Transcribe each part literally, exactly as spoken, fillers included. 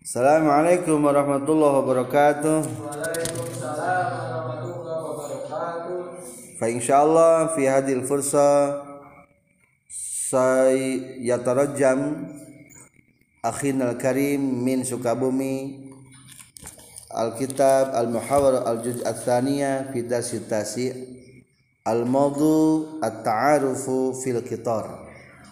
Assalamualaikum warahmatullahi wabarakatuh. Waalaikumsalam warahmatullahi wabarakatuh. Fa insyaallah fi hadhil fursa say yatarajjam akhina al-karim min Sukabumi al-kitab al-muhawar al-juz' ats-tsaniyah fi dasitasi al-mawdu at-ta'arufu fil qitar.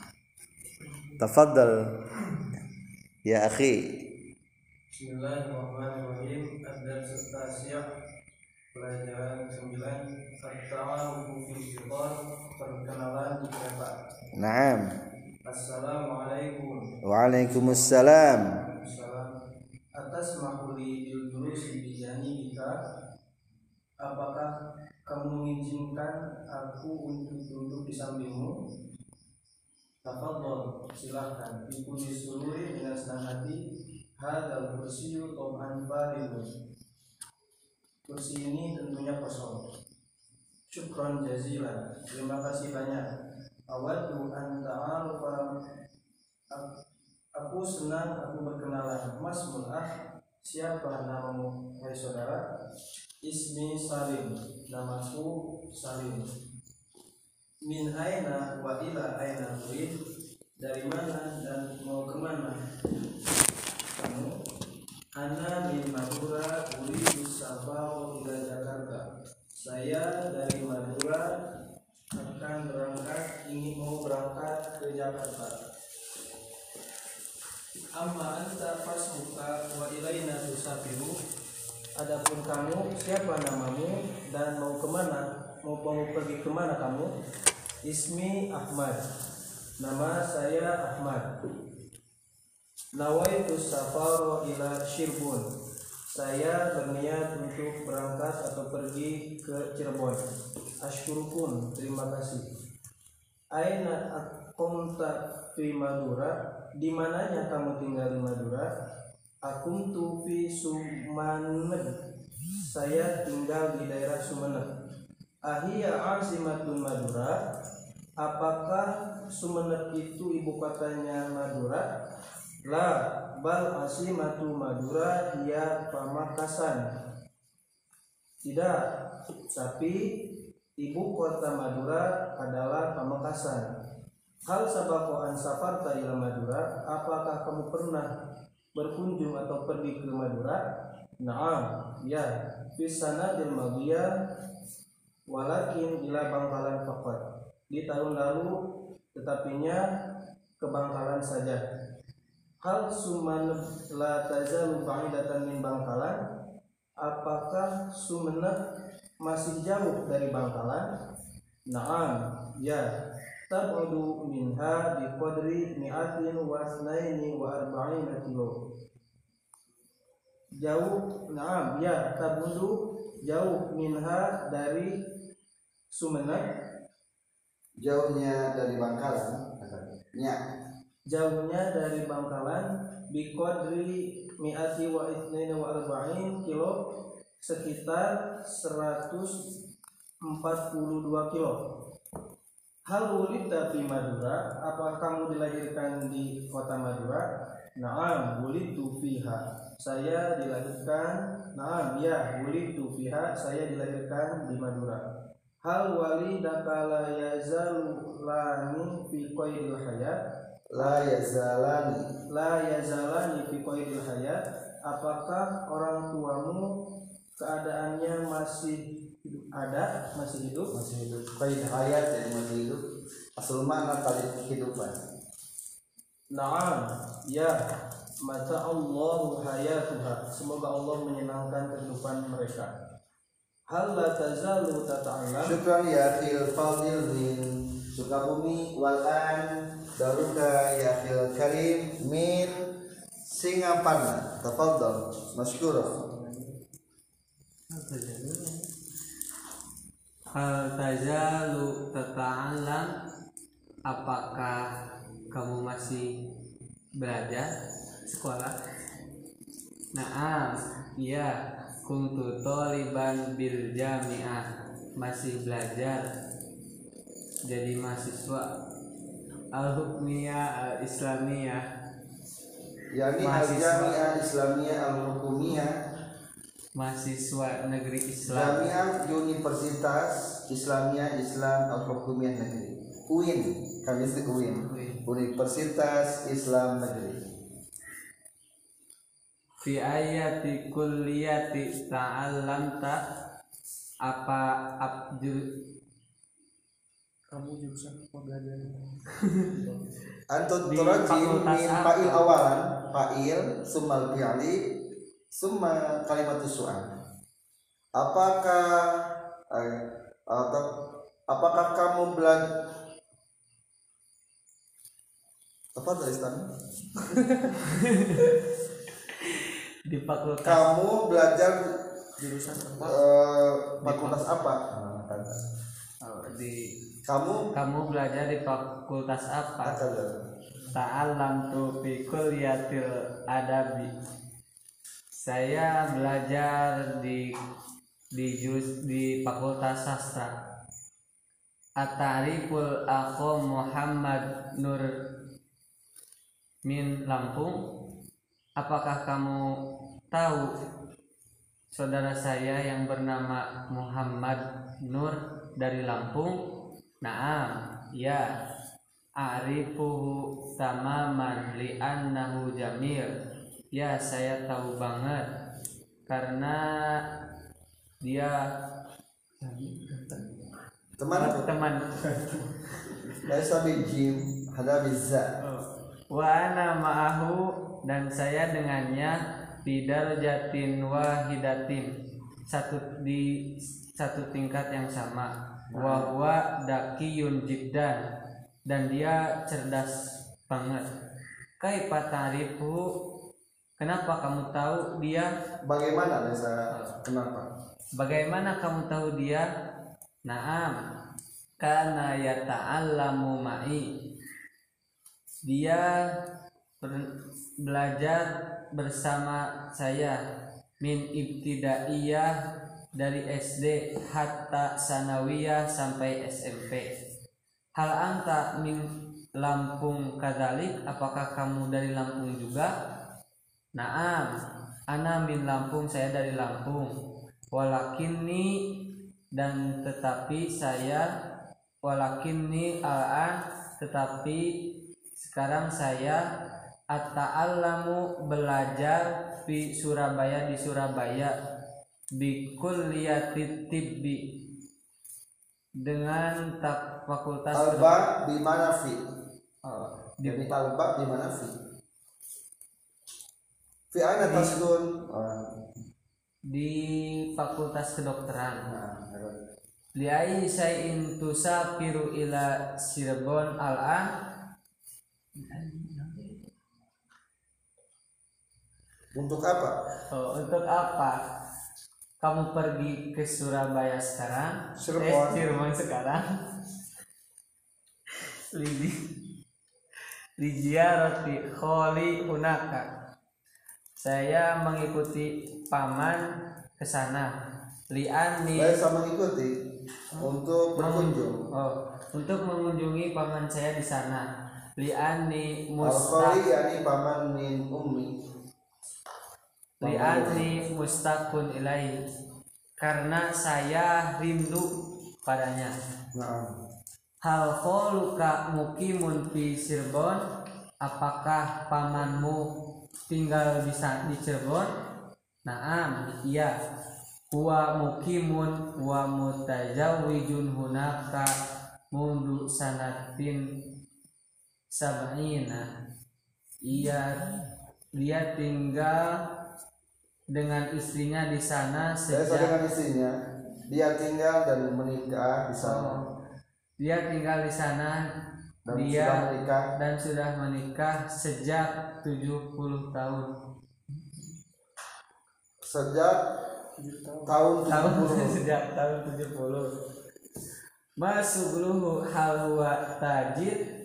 Tafaddal ya akhi. Bismillahirrahmanirrahim. Ad-dars as-tasi', pelajaran sembilan, at-ta'arufu fil qitar, perkenalan di kereta. Naam. Assalamualaikum. Waalaikumsalam. Assalam. Atas mahuli bil julusi bi janibika, apakah kamu mengizinkan aku untuk duduk di sampingmu? Tafadhol, silakan. Ibu disururi dengan senang hati. Hadal kursiyu tom'an faridun. Kursi ini tentunya kosong. Syukron jazilan, terima kasih banyak. Awaddu an ta'arufa, aku senang aku berkenalan. Masmul ah, siapa namamu hai saudara? Ismi Salim, namaku Salim. Min aina wa ila aina turid, dari mana dan mau kemana kamu? Ana min Madura uridu safar ila Jakarta. Saya dari Madura akan berangkat, ingin mau berangkat ke Jakarta. Amma anta fasmuka wa ilaina tusafiru. Adapun kamu, siapa namamu dan mau kemana? Mau mau pergi kemana kamu? Ismi Ahmad, nama saya Ahmad. Nawaitu safaro ila Cirebon, saya berniat untuk berangkat atau pergi ke Cirebon. Ashkurukun, terima kasih. Aina akunta fi Madura, di mananya kamu tinggal di Madura? Akuntu fi Sumeneb, saya tinggal di daerah Sumeneb. Ahia azimatun Madura, apakah Sumeneb itu ibu kotanya Madura? La bal asimatu Madura hiya Pamekasan. Tidak, tapi ibu kota Madura adalah Pamekasan. Hal sabaqo an safarta ila Madura, apakah kamu pernah berkunjung atau pergi ke Madura? Naam, ya, fi sanadil madiyah walakin ila Bangkalan faqat. Di tahun lalu tetapinya ke Bangkalan saja. Hal Sumeneb la tazalu ba'idatan min Bangkalan, apakah Sumeneb masih jauh dari Bangkalan? Naam, ya, tab'udu minha biqadri mi'atin wa asnaini wa arba'ina kilo. Jauh, naam, ya, tab'udu, jauh minha dari Sumeneb, Jauhnya dari Bangkalan, ya. Jauhnya dari Bangkalan biqadri mi'ati wa itsnaini wa arba'in kilo, sekitar seratus empat puluh dua kilo. Hal wulidta fi Madura, apakah kamu dilahirkan di kota Madura? Naam, wulidtu fiha, saya dilahirkan. Naam, ya, wulidtu fiha, saya dilahirkan di Madura. Hal walidaka la yazalani fi qaidil hayat, La yazalani la yazalani fi qaidil hayat, apakah orang tuamu keadaannya masih ada, masih hidup? masih hidup. Qaid hayat, jadi masih hidup. Asal makna tali kehidupan. Naam, ya, mata Allahu hayatuha, semoga Allah menyenangkan kehidupan mereka. Hal la tazalu tata'allam, Syukran ya akhil fadil min Sukabumi wal an daruka ya akhil karim min Singaparna. Tafadhal masykurah. Hal tazalu tata'allam, apakah kamu masih belajar sekolah? Naam, iya, kuntu thaliban bil jami'ah, masih belajar jadi mahasiswa. Al-hukmiyah al-islamiyah, yakni Mahasiswa. Al-Jami'ah Islamiyah Al-Hukumiyah, mahasiswa negeri Islam. Jami'ah Universitas Islamiyah Islam Al-Hukumiyah Negeri, U I N, kami itu U I N, Universitas Islam Negeri. Fi ayati kulliyati ta'allamta, apa abjur Kamu jurusan apa belajar? Antut Di turajim fakultas min apa? fa'il awalan, fa'il summal fi'li summa kalimatus su'al. Apakah eh, atau apakah kamu belajar apa tulisan? di fakultas Kamu belajar Jurusan apa? eh, fakultas apa? oh, di Kamu kamu belajar di fakultas apa? apa? Ta'allamtu fi kulliyatil adabi. Saya belajar di di jurus di fakultas sastra. At-ta'riful akhu Muhammad Nur min Lampung. Apakah kamu tahu saudara saya yang bernama Muhammad Nur dari Lampung? Naam, ya. A'rifuhu tamaman li'annahu jamil. Ya, saya tahu banget karena dia Temanku. teman. Laisa bijim, hada bizza. Wa ana ma'ahu, dan saya dengannya bidar jatin wahidatin, satu di satu tingkat yang sama. Wa huwa dakiyun jiddan, dan dia cerdas banget. Kaifa ta'rifu, kenapa kamu tahu dia? Bagaimana Laisa? Kenapa? Bagaimana kamu tahu dia? Naam, kana yata'allamu ma'i, dia ber- belajar bersama saya min ibtidaiyah, dari S D hatta sanawiyah sampai S M P. Hal anta min Lampung kadzalik, apakah kamu dari Lampung juga? Naam, ana min Lampung, saya dari Lampung. Walakinni, dan tetapi saya, walakinni al-an, tetapi sekarang saya at-ta'allamu, belajar di Surabaya, di Surabaya, bi kulliyati tibbi, dengan tak fakultas Alba di mana fi? oh, Di di, alba di mana fi? Fi aina taskun? di fakultas kedokteran. Nah, Li ayyi syai'in tusafiru ila Cirebon al-an? untuk apa? Oh, untuk apa kamu pergi ke Surabaya sekarang? Cirebon. Eh, Cirebon sekarang. Lidi Lijiarati kholi hunaka. Saya mengikuti paman ke sana. Liani, Laisa mengikuti untuk berkunjung. oh, untuk mengunjungi paman saya di sana. Liani Al-Khali mustaq yakni paman min ummi. liani mustaqun ilai, karena saya rindu padanya. Nah, Hal kholuka mukimun fi Cirebon, apakah pamanmu tinggal di di Cirebon? Naam, iya. Huwa mukimun wa mutajawwijun hunaka mundu sanatin sab'ina. Iya, dia tinggal dengan istrinya di sana saya sejak dengan istrinya. Dia tinggal dan menikah di sana. Oh, dia tinggal di sana Dan dia sudah menikah. dan sudah menikah sejak tujuh puluh tahun. Sejak tahun Tahun tujuh puluh. sejak tahun tujuh puluh. Masugluhu hal huwa tajid.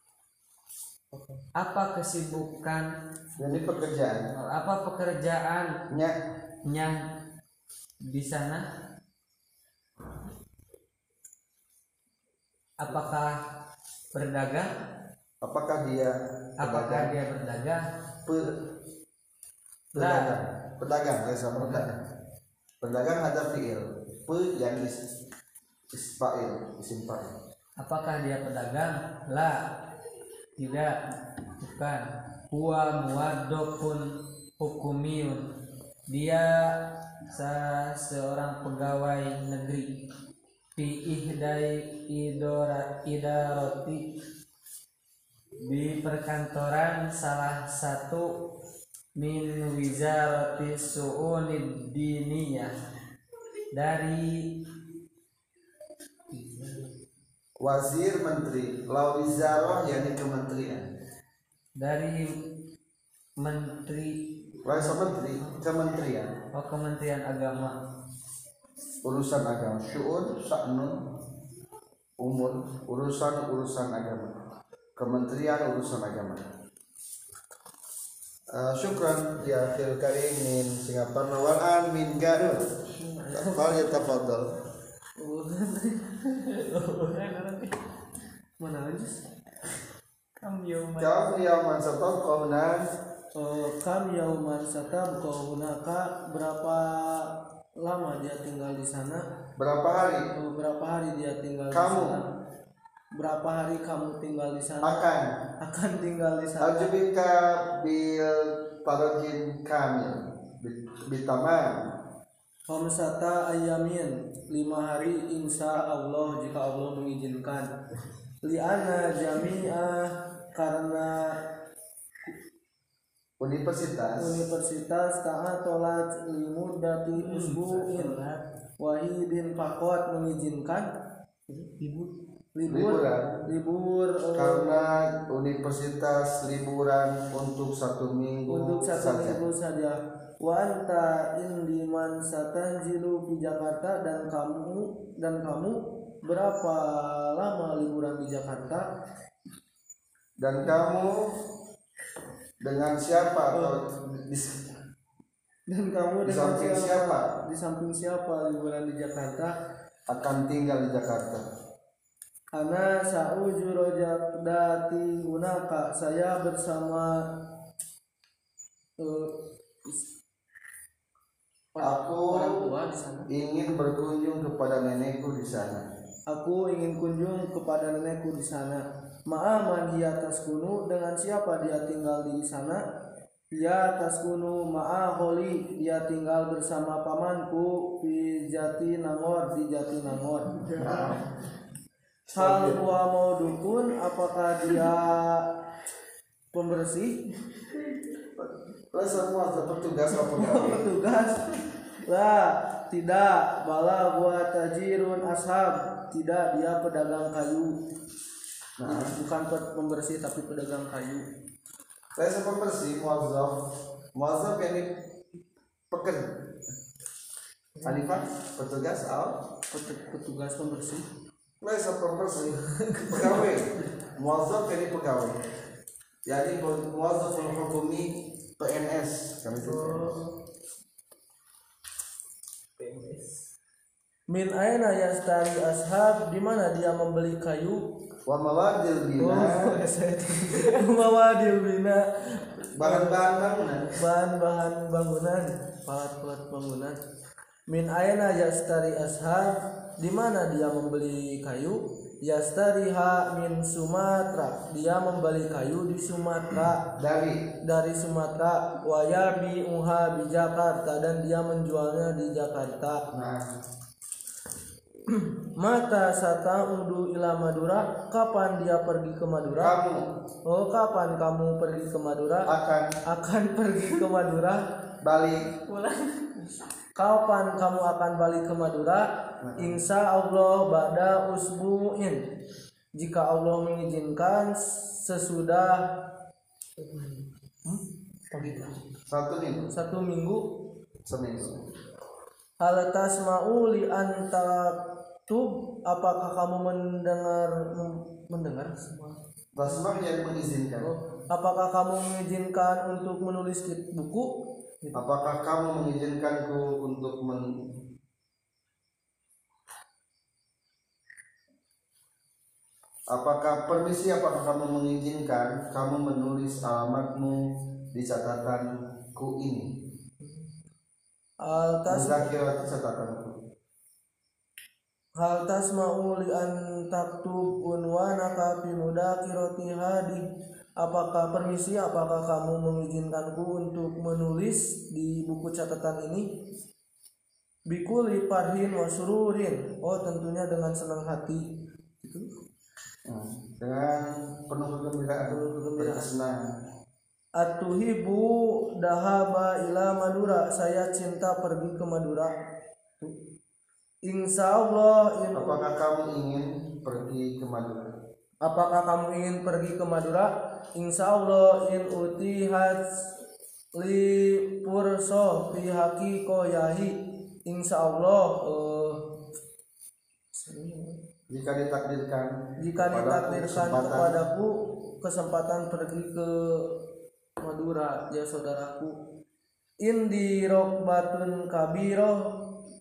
Apa kesibukan, Jadi pekerjaan. apa pekerjaannya Nya di sana? Apakah berdagang? Apakah dia Apakah pedagang? dia berdagang? Pe- pedagang. Pedagang, ya sama pedagang. Pedagang ada fiil. Pe yang is isfa'il, isim fa'il. Apakah dia pedagang? La, tidak, bukan. Huwa muwaddafun hukumiyun. Dia sa seorang pegawai negeri. Fi ihdai idora idarati, di perkantoran salah satu min wizarati su'unid diniyah, dari Wazir menteri, la wizarah yakni kementerian. dari menteri Rasa menteri, kementerian, oh, Kementerian Agama. urusan agama, syu'un, sa'nun, umur, urusan urusan agama, kementerian urusan agama. Uh, syukran ya akhil karim min Singapura wal an min Garut. Fal yatafaddal. Mana aja? Kam yauma Kam yaman sataqawna Eh, kam yauman satabqaunaka, berapa lama dia tinggal di sana? berapa hari Eh, berapa hari dia tinggal Kamu. di sana? Berapa hari kamu tinggal di sana? akan Akan tinggal di sana. ajibika bil tarjim kamil bitamam Khamsata ayamin, lima hari insya Allah jika Allah mengizinkan. Liana jami'ah, karena universitas universitas ta'atolat limudati usbu'in wahidin fakot mengizinkan libur libur Liburan. libur eh, karena universitas liburan untuk satu minggu untuk satu saja. minggu saja. Wa anta indiman satanzilu di Jakarta, dan kamu dan kamu berapa lama liburan di Jakarta? Dan kamu dengan siapa atau di, Dan kamu Di dengan samping siapa? Di samping siapa liburan di Jakarta? akan tinggal di Jakarta. Ana sauju rojakdati hunaka, saya bersama uh, Aku orang tua di sana. ingin berkunjung kepada nenekku di sana. Aku ingin kunjung kepada nenekku di sana. Ma'aman dia taskunu, dengan siapa dia tinggal di sana? Dia taskunu ma'aholi, dia tinggal bersama pamanku di Jati Nangor, di Jati Nangor. Hal huwa mau dukun, apakah dia pembersih? Lah semua petugas apa pegawai? Petugas? Lah, tidak. Bala huwa tajirun ashab, tidak, dia pedagang kayu. Nah, Bukan pembersih tapi pedagang kayu. saya sempat bersih muazzaf. Muazzaf yang pekerja. Alifah petugas al Pet- Petugas pembersih. Saya sempat bersih pegawai. Muazzaf yang pegawai. Jadi muazzaf hukumi P N S kami itu. Min aina yastari ashab, di mana dia membeli kayu? Wa mawadil bina Mawadil bina, bahan-bahan bangunan. bahan-bahan bangunan, alat-alat bangunan. Min aina yastari ashab, di mana dia membeli kayu? Yastariha min Sumatera, dia membeli kayu di Sumatera, Dari dari Sumatera. Wa yabi'uha di Jakarta, dan dia menjualnya di Jakarta. nah Mata sataudu ila Madura, kapan dia pergi ke Madura? kamu Oh, kapan kamu pergi ke Madura? akan Akan pergi ke Madura. balik Kapan kamu akan balik ke Madura? Insya Allah ba'da usbu'in, jika Allah mengizinkan sesudah hmm? satu minggu satu minggu. seminggu. Hal tasma'u li antaktub, apakah kamu mendengar mendengar semua? Tasmak yang mengizinkan. Oh, apakah kamu mengizinkan untuk menulis di buku? Apakah kamu mengizinkanku untuk men Apakah permisi, apakah kamu mengizinkan kamu menulis alamatmu di catatanku ini? Hal tas Muzakirati catatanku. hal tasma'u li an taktub unwanaka fi mudakirati hadi. Apakah permisi, apakah kamu mengizinkanku untuk menulis di buku catatan ini? Bikuli farhin wa sururin. Oh, tentunya dengan senang hati. Itu. Hmm. Dengan penuh kegembiraan, berkesenangan. Atuhibu dahaba ila Madura. Saya cinta pergi ke Madura. Insya Allah. In... Apakah kamu ingin pergi ke Madura? Apakah kamu ingin pergi ke Madura? Insya Allah in utihat li purso fi haqiqoyahi. Insya Allah uh, jika ditakdirkan jika ditakdirkan kepadaku kesempatan pergi ke Madura, ya saudaraku. Indi rokbatun kabiroh.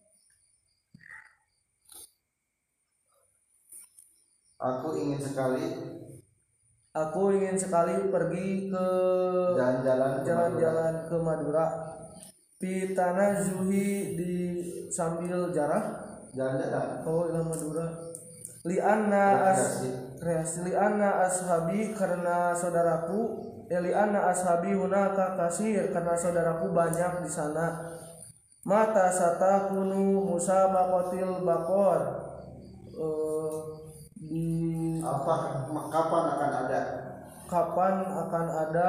Aku ingin sekali Aku ingin sekali pergi ke jalan-jalan jalan-jalan ke Madura. Pi tanah zuhi di sambil jarah. Jalan-jalan. Oh, ila Madura. Li anna as kreasi li anna ashabi karena saudaraku. Ya li anna ashabi hunaka kasir karena saudaraku banyak di sana. Mata satakunu musabaqatil baqor. Uh, di apa kapan akan ada kapan akan ada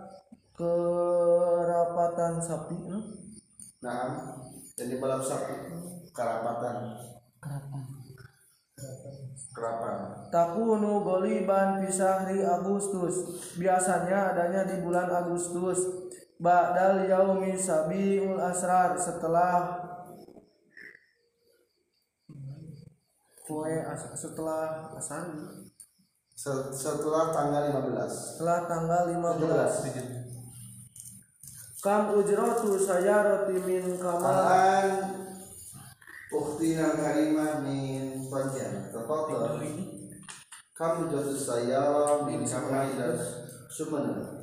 kerapatan sapi? Hmm? Nah, jadi balap sapi kerapatan Kerapan. kerapan. Takunu goliban fi syahri Agustus. Biasanya adanya di bulan Agustus. Ba'dal yaumi sabiul asrar, setelah Kue setelah asar setelah tanggal lima belas. Setelah tanggal lima belas. Kam ujratu sayarati min kamal. Alan ukhtina karimah min Pontianak. Tafadhal. Kamu jatuh saya min kamal ila Sumenep.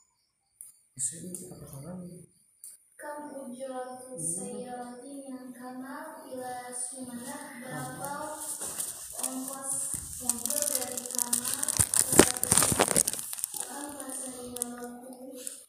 Kam ujratu sayyarati min Kamal ila Sumenep. Berapa ongkos mobil dari Kamal ke Kamal sayyaratu,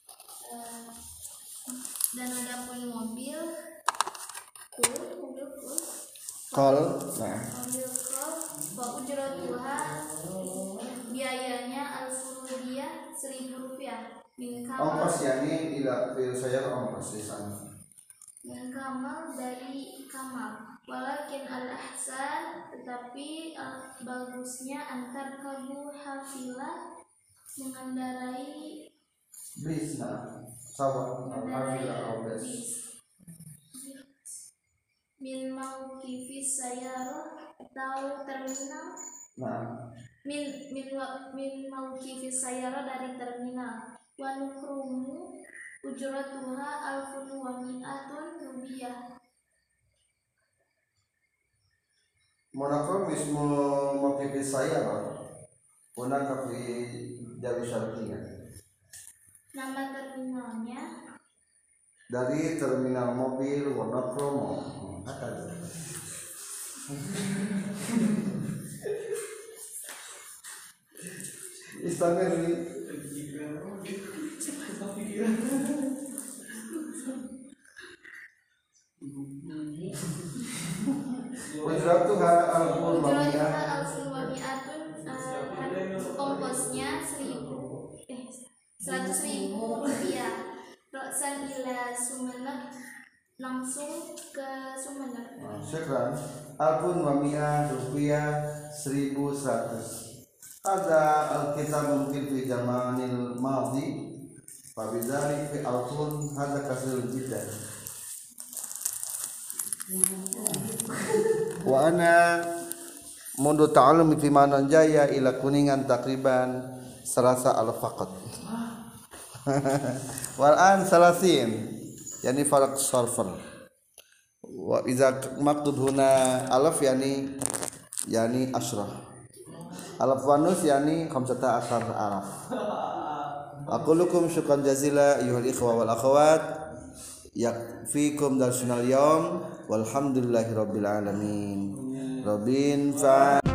dan ada pun mobil kul mobil kul Kol. Nah, mobil kul wa ujratuha, biayanya al-furudiyah seribu rupiah. Min Kamal, ongkos yani ila fil saya ongkos di sana. Min Kamal dari Kamal. Walakin al-ahsan, tetapi uh, bagusnya antar kabu hafilah, mengendarai Bis nah, sawah alhamdulillah mengendarai bis. bis. Min mauqifis sayyarah, atau terminal. Nah, Min min wa- min mauqifis sayyarah, dari terminal. Wa nukrumu ujratuha alfun wa mi'atun rubiyah. monokrom ismu mokifi saya loh. Puna kafi Jawi Syarqiyah. Nama terminalnya Dari terminal mobil Wonokromo. Akan. Istamir ini. Ujratuha al-qul ujratuha mamiyah. alfun wa mi'atun, uh, ongkosnya seribu eh seratus ribu rupiah. Roksan ila Sumenep, langsung ke Sumenep. Syukran. Alfun wa mi'ah rupiah seribu seratus. Ada alkitab mungkin fi zamanil madhi. Fabidhalik fi alfun hadza kasirun jiddan. Wa ana mundu ta'allum fi manan jaya ila kuningan takriban salasa alaf faqat. Wal an salasin yani farq sarfan. Wa idza maktub huna alaf yani yani ashrah. alaf wanus yani khamsata asar alaf. Aqulukum syukran jazila ayyuhal ikhwa wal akhawat, yakfikum darsunal yawm walhamdulillahi rabbil alamin. Robin fa